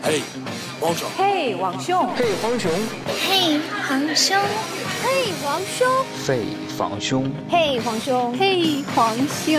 嘿，王兄。 嘿，王兄。 嘿，黄兄。 嘿，皇兄。 嘿，王兄。 嘿，房兄。 嘿，皇兄。 嘿，皇兄。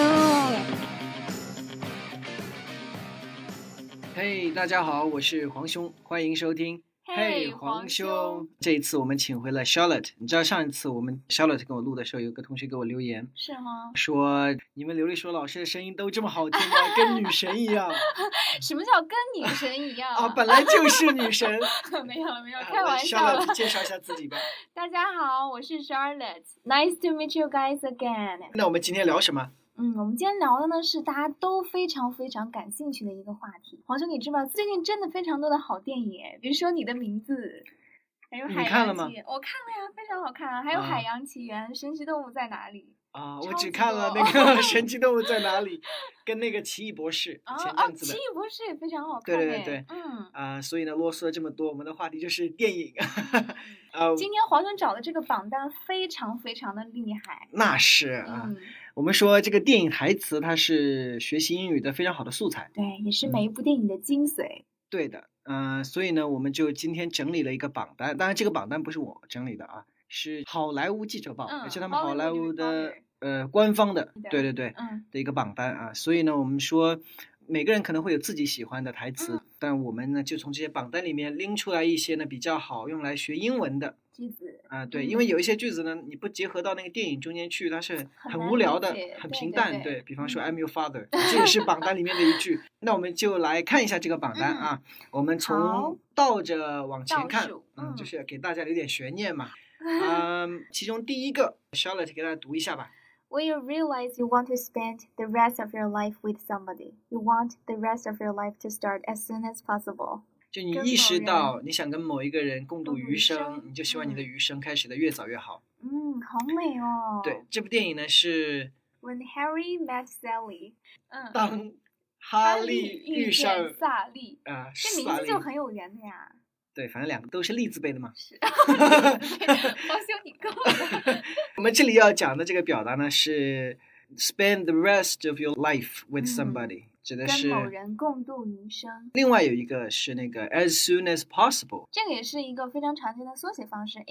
嘿，大家好，我是黄兄，欢迎收听。 嘿，皇兄。 这一次我们请回了 Charlotte。你知道上一次我们 Charlotte 跟我录的时候，有个同学给我留言， 是吗？ 说你们刘丽说老师的声音都这么好听吗？跟女神一样。 什么叫跟女神一样啊？本来就是女神。 没有，开玩笑了。 Charlotte 介绍一下自己吧。 大家好，我是 Charlotte。Nice to meet you guys again。 那我们今天聊什么？ 我们今天聊的呢是大家都非常感兴趣的一个话题。黄兄，你知道最近真的非常多的好电影，比如说《你的名字》，还有《海洋奇缘》。我看了呀，非常好看啊。还有《海洋奇缘》神奇动物在哪里？ 啊，我只看了那个《神奇动物在哪里》跟那个《奇异博士》前阵子的。 奇异博士也非常好看。 对。所以呢，啰嗦了这么多，我们的话题就是电影。 今天黄兄找的这个榜单非常的厉害。 那是啊。我们说这个电影台词它是学习英语的非常好的素材。 对，也是每一部电影的精髓。 对的。所以呢，我们就今天整理了一个榜单。当然这个榜单不是我整理的啊，是好莱坞记者报，也是他们好莱坞的官方的，对的一个榜单啊。所以呢，我们说每个人可能会有自己喜欢的台词，但我们呢就从这些榜单里面拎出来一些呢比较好用来学英文的句子啊。对，因为有一些句子呢你不结合到那个电影中间去，它是很无聊的，很平淡。对，比方说 I'm your father， 这也是榜单里面的一句。那我们就来看一下这个榜单啊。我们从倒着往前看，就是给大家留点悬念嘛。其中第一个 Charlotte 给大家读一下吧。 When you realize you want to spend the rest of your life with somebody, you want the rest of your life to start as soon as possible. 就你意识到你想跟某一个人共度余生，你就希望你的余生开始的越早越好。 好美哦。 对，这部电影呢是 When Harry Met Sally。 当哈利遇上萨莉。这名字就很有缘的呀。 对，反正两个都是利字辈的嘛。 是。黄兄你够了。 我们这里要讲的这个表达呢是 spend the rest of your life with somebody，指的是跟某人共度余生。 另外有一个是那个 as soon as possible， 这个也是一个非常常见的缩写方式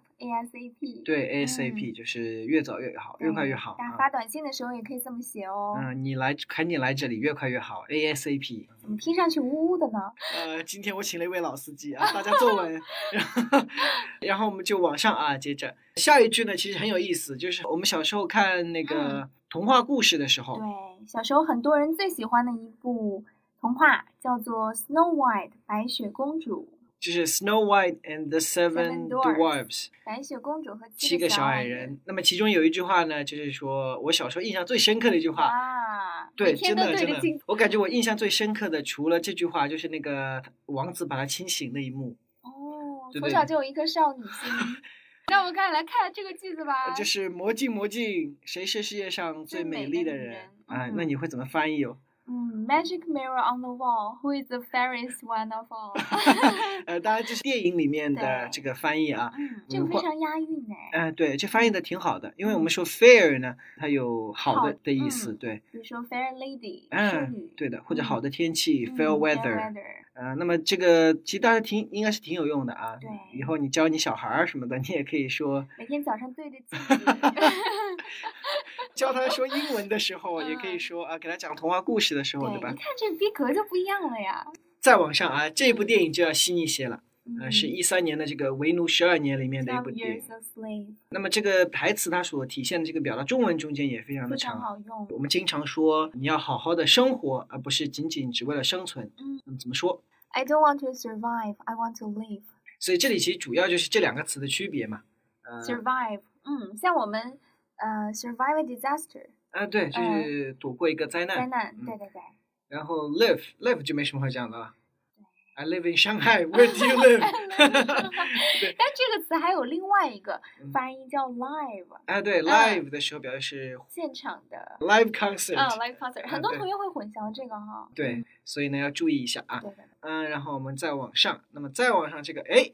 ASAP。 对 ASAP 就是越早越好，越快越好。 大家发短信的时候也可以这么写哦。 你赶紧来这里，越快越好 ASAP。 怎么听上去呜呜的呢？ 今天我请了一位老司机啊，大家坐稳。然后我们就往上啊，接着下一句呢其实很有意思，就是我们小时候看那个童话故事的时候， 对，小时候很多人最喜欢的一部童话叫做 Snow White 白雪公主， 就是 Snow White and the Seven Dwarfs 白雪公主和七个小矮人。那么其中有一句话呢，就是说我小时候印象最深刻的一句话。对，真的，我感觉我印象最深刻的除了这句话，就是那个王子把他亲醒那一幕。 从小就有一颗少女心。那我们来看这个句子吧。 就是魔镜魔镜，谁是世界上最美丽的人？那你会怎么翻译哦 ？Magic mirror on the wall, who is the fairest one of all？ 当然这是电影里面的这个翻译啊。 这个非常押韵哎。 对，这翻译的挺好的，因为我们说 fair 呢，它有好的意思，对。 比如说 fair lady， 对的，或者好的天气，fair weather。那么这个其实大家应该是挺有用的啊。 对， 以后你教你小孩什么的，你也可以说。 每天早上对着镜子。 教他说英文的时候，也可以说给他讲童话故事的时候，对吧？ 你看这逼格就不一样了呀。 再往上啊，这部电影就要新一些了。是13年的这个为奴12年里面的一部电影。那么这个台词它所体现的这个表达，中文中间也非常的长， 好用。 我们经常说你要好好的生活，而不是仅仅只为了生存。那么怎么说 ？I don't want to survive, I want to live。 所以这里其实主要就是这两个词的区别嘛。 survive，像我们survive a disaster。 对，就是躲过一个灾难。 对。 然后 live 就没什么好讲的了。I live in Shanghai. Where do you live? 但这个词还有另外一个发音叫 live。 对 ，live 的时候表示现场的 live concert。 live concert， 很多同学会混淆这个哈。 对，所以呢要注意一下啊。 对的。 然后我们再往上，那么再往上这个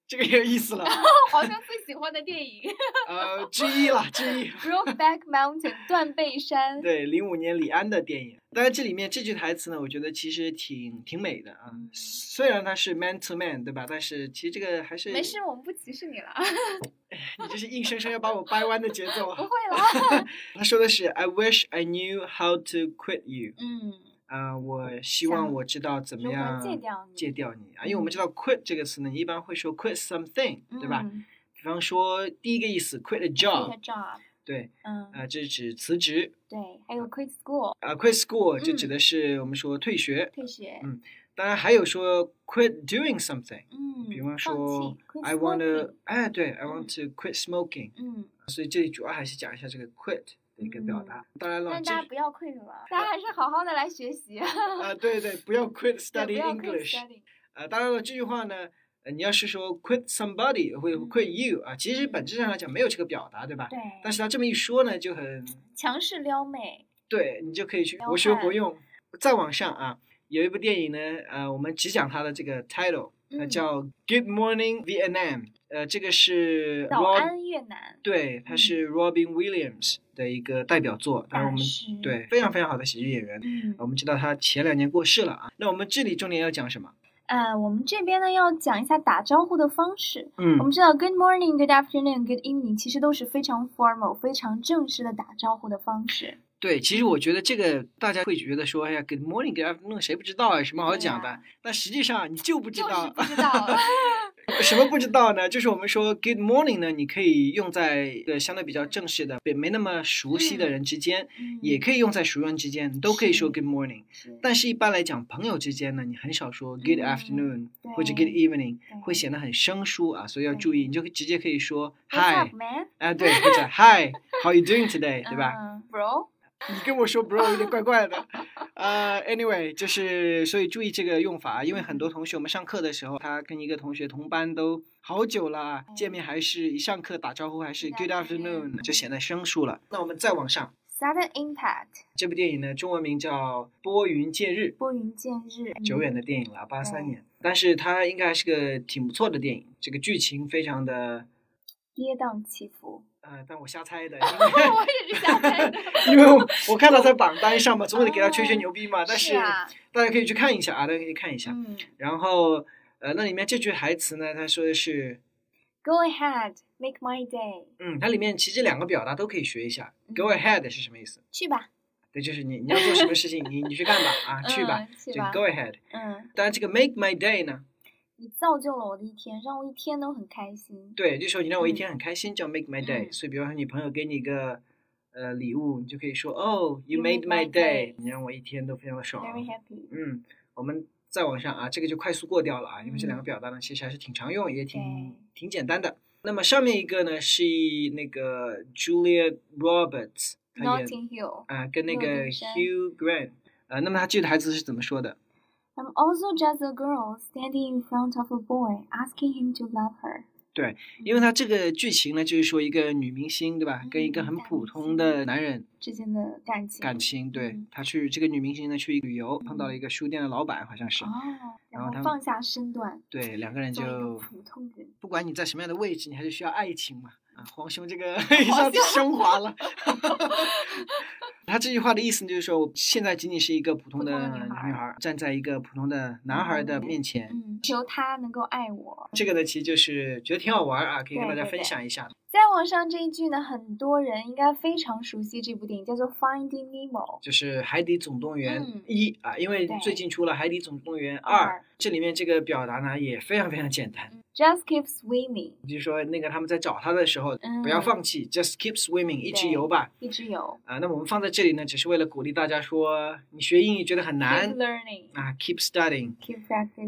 这个也有意思了。 皇兄最喜欢的电影之一了，之一。 Brokeback Mountain 断背山。 对，05年李安的电影。当然这里面这句台词呢，我觉得其实挺美的啊。虽然它是 man to man 对吧，但是其实这个还是。 没事，我们不歧视你了。 你这是硬生生要把我掰弯的节奏。 不会了。 他说的是 I wish I knew how to quit you。我希望我知道怎么样戒掉你啊，因为我们知道 quit 这个词呢，你一般会说 quit something，对吧？比方说第一个意思 quit a job， 对，这是指辞职。 对，还有 quit school。 quit school 就指的是我们说退学。 退学。 当然还有说 quit doing something，比方说 I want to， 对 I want to quit smoking，所以这里主要还是讲一下这个 quit。一个表达，当然了， 但大家不要 quit 了，大家还是好好的来学习。 对，不要 quit study English。当然了，这句话呢，你要是说 quit somebody 或者 quit you 啊，其实本质上来讲没有这个表达，对吧？ 对。 但是他这么一说呢，就很强势撩妹。 对，你就可以去活学活用。再往上啊，有一部电影呢，我们只讲它的这个 title，叫 Good Morning Vietnam。这个是早安越南。对， 他是 Robin Williams 的一个代表作，当然我们对非常非常好的喜剧演员。我们知道他前2年过世了啊。那我们这里重点要讲什么？ 我们这边呢要讲一下打招呼的方式。我们知道 Good morning, Good afternoon, Good evening 其实都是非常 formal 非常正式的打招呼的方式。 对，其实我觉得这个大家会觉得说，哎呀 ，Good morning, Good afternoon， 谁不知道啊？什么好讲的？但实际上你就不知道。 就是不知道。 什么不知道呢？就是我们说 Good morning 呢，你可以用在一个相对比较正式的、没那么熟悉的人之间，也可以用在熟人之间，你都可以说 Good morning。但是一般来讲，朋友之间呢，你很少说 Good afternoon 或者 Good evening， 会显得很生疏啊，所以要注意，你就直接可以说 Hi， 对，或者 Hi，How you doing today， 对吧 ？Bro。 你跟我说 bro 有点怪怪的。anyway， 就是所以注意这个用法，因为很多同学我们上课的时候，他跟一个同学同班都好久了，见面还是一上课打招呼还是 Good afternoon， 就显得生疏了。那我们再往上 Sudden Impact 这部电影呢，中文名叫《拨云见日》。 拨云见日， 久远的电影了，83年，但是它应该还是个挺不错的电影，这个剧情非常的跌宕起伏。 但我瞎猜的， 我也是瞎猜的， 因为我看到在榜单上嘛，总得给他吹吹牛逼嘛。但是大家可以去看一下啊，大家可以看一下。然后那里面这句台词呢，他说的是 Go ahead, make my day。 它里面其实2个表达都可以学一下。Go ahead 是什么意思？ 去吧。 对，就是你要做什么事情，你去干吧啊，去吧，就 Go ahead。当然这个 make my day 呢？ 你造就了我的一天，让我一天都很开心。 对，就说你让我一天很开心，叫 make my day。所以比方说你朋友给你一个礼物，你就可以说 Oh, you made my day。你让我一天都非常的爽。 Very happy。 我们再往上啊，这个就快速过掉了啊，因为这2个表达呢，其实还是挺常用，也挺简单的。那么上面一个呢是那个 Julia Roberts， Notting Hill 跟那个 Hugh Grant。那么他这个台词是怎么说的 ？I'm also just a girl standing in front of a boy, asking him to love her。 对，因为他这个剧情呢，就是说一个女明星，对吧？跟一个很普通的男人之间的感情。 对，他去这个女明星呢去旅游，碰到了一个书店的老板，好像是。 然后他放下身段。 对，2个人就普通人。 不管你在什么样的位置，你还是需要爱情嘛。皇兄这个一下子升华了。他这句话的意思就是说，我现在仅仅是一个普通的女孩，站在一个普通的男孩的面前， 求他能够爱我。 这个呢，其实就是觉得挺好玩啊，可以跟大家分享一下。 再往上这一句呢，很多人应该非常熟悉这部电影，叫做 Finding Nemo， 就是海底总动员1啊，因为最近出了海底总动员2，这里面这个表达呢也非常非常简单。 Just keep swimming， 就是说那个他们在找他的时候，不要放弃 ，Just keep swimming， 一直游吧， 一直游那么我们放在这里呢，只是为了鼓励大家说，你学英语觉得很难 ，Keep learning ，Keep studying，Keep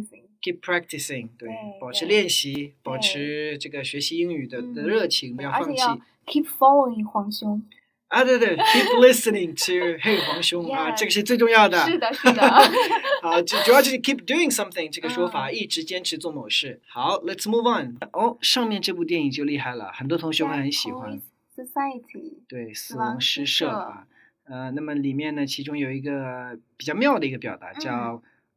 practicing， 对，保持练习，保持这个学习英语的热情，不要放弃。 而且要 Keep following 皇兄。 对，keep listening to 嘿皇兄这个是最重要的。 是的。 主要就是 keep doing something 这个说法，一直坚持做某事。好 ，Let's move on。上面这部电影就厉害了，很多同学会很喜欢。 Society， 对，死亡诗社啊。那么里面呢，其中有一个比较妙的一个表达叫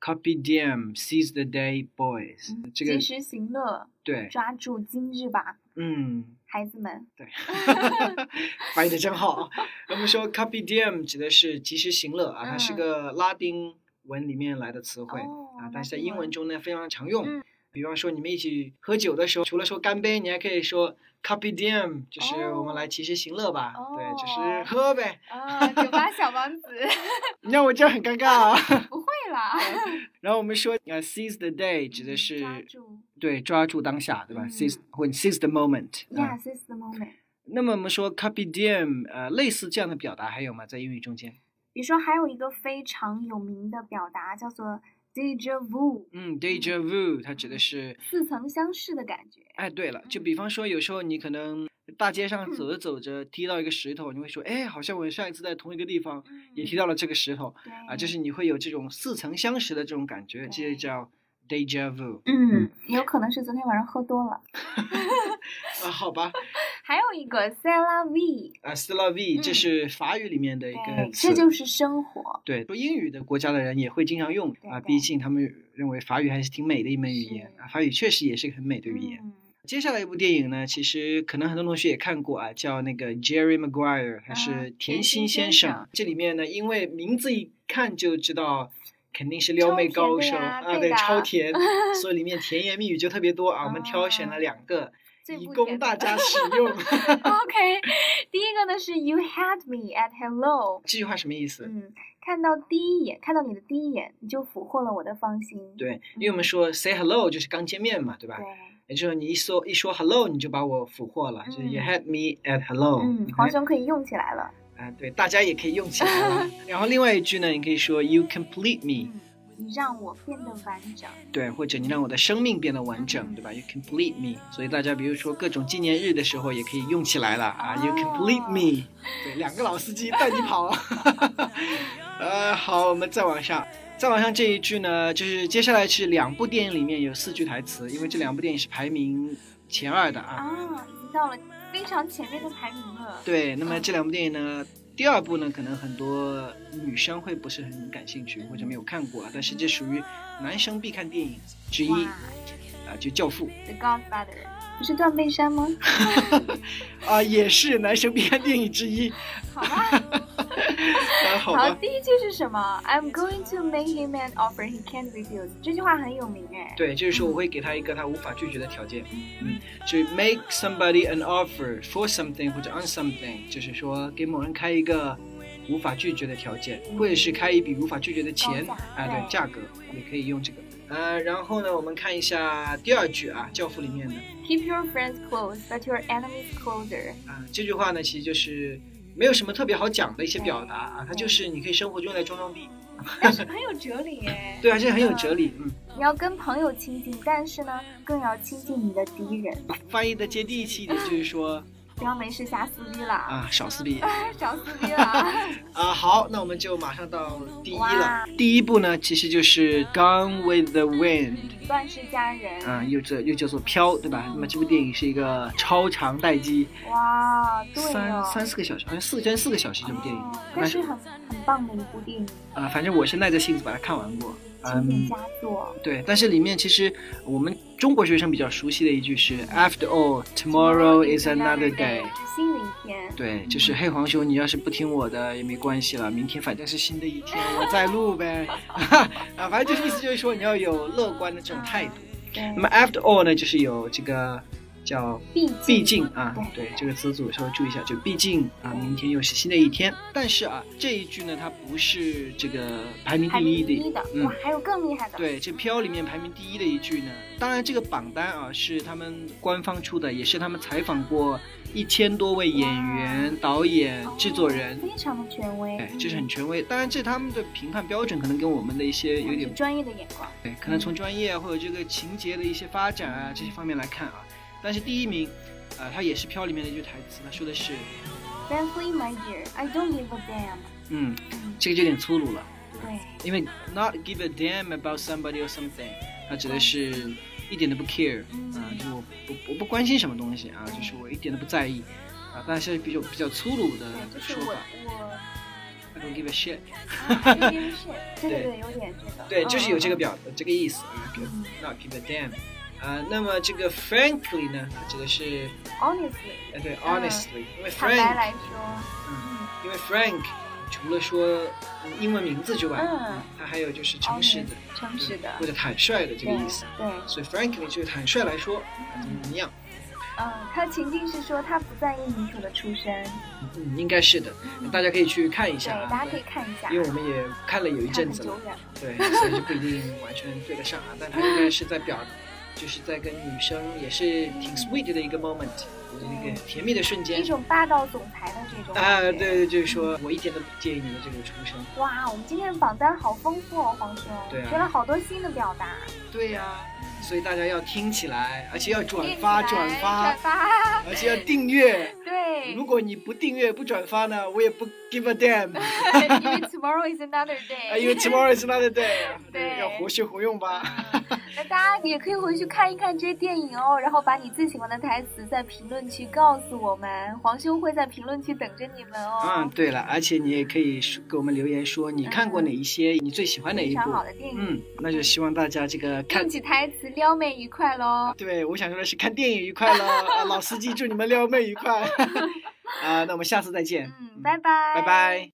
Carpe diem, seize the day, boys。这个及时行乐， 对， 抓住今日吧。孩子们， 对，翻译的真好。我们说 Carpe diem 指的是及时行乐啊，它是个拉丁文里面来的词汇啊，但是在英文中呢非常常用。比方说你们一起喝酒的时候，除了说干杯，你还可以说 Carpe diem， 就是我们来及时行乐吧。对，就是喝呗。 酒吧小王子。 你让我这样很尴尬啊。 不会啦。 然后我们说seize the day 指的是抓住当下，对吧？seize 或 seize the moment。seize the moment。 那么我们说 Carpe diem， 类似这样的表达还有吗？在英语中间？ 比如说还有一个非常有名的表达叫做déjà vu。 déjà vu 它指的是似曾相识的感觉。 哎，对了，就比方说有时候你可能大街上走着走着踢到一个石头，你会说，哎，好像我上一次在同一个地方也踢到了这个石头啊，就是你会有这种似曾相识的这种感觉，这就叫 déjà vu。 有可能是昨天晚上喝多了。 好吧。 还有一个 c'est la vie。c'est la vie，这是法语里面的一个词， 这就是生活。 对，说英语的国家的人也会经常用啊，毕竟他们认为法语还是挺美的一门语言啊，法语确实也是个很美的语言。接下来一部电影呢，其实可能很多同学也看过啊，叫那个 Jerry Maguire， 他是甜心先生。这里面呢，因为名字一看就知道肯定是撩妹高手啊，对，超甜，所以里面甜言蜜语就特别多啊。我们挑选了2个。以供大家使用。 OK， 第一个呢是 You had me at hello。 这句话什么意思？ 看到你的第一眼，你就俘获了我的芳心。 对，因为我们说 say hello 就是刚见面嘛，对吧？ 对。 也就是你一说 hello， 你就把我俘获了，就是 You had me at hello。 黄兄可以用起来了。 对，大家也可以用起来了。然后另外一句呢，你可以说 You complete me。 你让我变得完整， 对，或者你让我的生命变得完整，对吧 ？You complete me。所以大家比如说各种纪念日的时候也可以用起来了啊。You complete me。对，2个老司机带你跑。好，我们再往上这一句呢，就是接下来是2部电影里面有4句台词，因为这2部电影是排名前2的啊。 已经到了非常前面的排名了。对， 那么这2部电影呢？第2部呢，可能很多女生会不是很感兴趣或者没有看过，但是这属于男生必看电影之一就《教父》。 The Godfather， 不是断背山吗？ 也是男生必看电影之一。 好吧。好，第一句是什么 ？I'm going to make him an offer he can't refuse。这句话很有名哎。 对，就是说我会给他一个他无法拒绝的条件。就 make somebody an offer for something 或者 on something， 就是说给某人开一个无法拒绝的条件，或者是开一笔无法拒绝的钱对，价格也可以用这个。然后呢，我们看一下第2句啊，《教父》里面的 Keep your friends close, but your enemies closer。 这句话呢，其实就是没有什么特别好讲的一些表达啊，它就是你可以生活中来装逼， 但是很有哲理耶。 对啊，这很有哲理。 你要跟朋友亲近，但是呢，更要亲近你的敌人。 翻译的接地气一点，就是说不要没事瞎撕逼了少撕逼。 少撕逼了。 好，那我们就马上到第1了。第1部呢，其实就是 Gone with the Wind， 乱世佳人。 又叫做飘，对吧？那么这部电影是一个超长待机。 哇，对 3-4个小时，好像4个小时这部电影。 但是很棒的一部电影。 反正我是耐着性子把它看完过。 经典佳作。 对，但是里面其实我们中国学生比较熟悉的一句是 After all, tomorrow is another day。 新的一天。 对，就是嘿黄兄，你要是不听我的也没关系了，明天反正是新的一天，我再录呗。反正就是意思就是说你要有乐观的这种态度。那么 After all 呢，就是有这个叫毕竟对这个词组稍微注意一下，就毕竟明天又是新的一天。但是这一句呢，它不是这个排名第一的。 还有更厉害的。 对，这飘里面排名第1的一句呢，当然这个榜单是他们官方出的，也是他们采访过1000多位演员、导演、制作人， 非常的权威。 对，这是很权威。当然这他们的评判标准可能跟我们的一些有点专业的眼光。 对，可能从专业或者这个情节的一些发展这些方面来看但是第1名，他也是飘里面的一句台词，他说的是 Frankly, my dear, I don't give a damn。 这个就有点粗鲁了。 对， 因为 not give a damn about somebody or something， 它指的是一点都不 care，就我不关心什么东西就是我一点都不在意但是比较粗鲁的说法。 Don't give a shit。 Don't give a shit。对，有点这个。 对，就是有这个这个意思啊。Not give a damn。那么这个 frankly 呢，它指的是 honestly。 对 honestly，因为 frank 坦白来说， 因为 Frank 除了说英文名字之外，它还有就是诚实的或者坦率的这个意思。 对， 所以 frankly 就是坦率来说，怎么样？ 他情境是说他不在意女主的出身。 应该是的，大家可以去看一下。 对，大家可以看一下， 因为我们也看了有一阵子了，对，所以就不一定完全对得上啊。但他应该是在就是在跟女生也是挺 sweet 的一个 moment， 就是一个甜蜜的瞬间， 一种霸道总裁的这种对，就是说我一点都不介意你的这个出身。 哇，我们今天的榜单好丰富哦，黄兄， 对啊， 学了好多新的表达。 对呀，所以大家要听起来，而且要转发，而且要订阅。 对， 如果你不订阅不转发呢，我也不 give a damn。 因为 tomorrow is another day。 因为 tomorrow is another day。对，要活学活用吧。 那大家也可以回去看一看这些电影哦，然后把你最喜欢的台词在评论区告诉我们，黄兄会在评论区等着你们哦。 对了，而且你也可以给我们留言说你看过哪一些，你最喜欢哪一部非常好的电影。 那就希望大家这个用起台词撩妹愉快咯。 对，我想说的是看电影愉快咯。老司机祝你们撩妹愉快。那我们下次再见。 拜拜。 拜拜。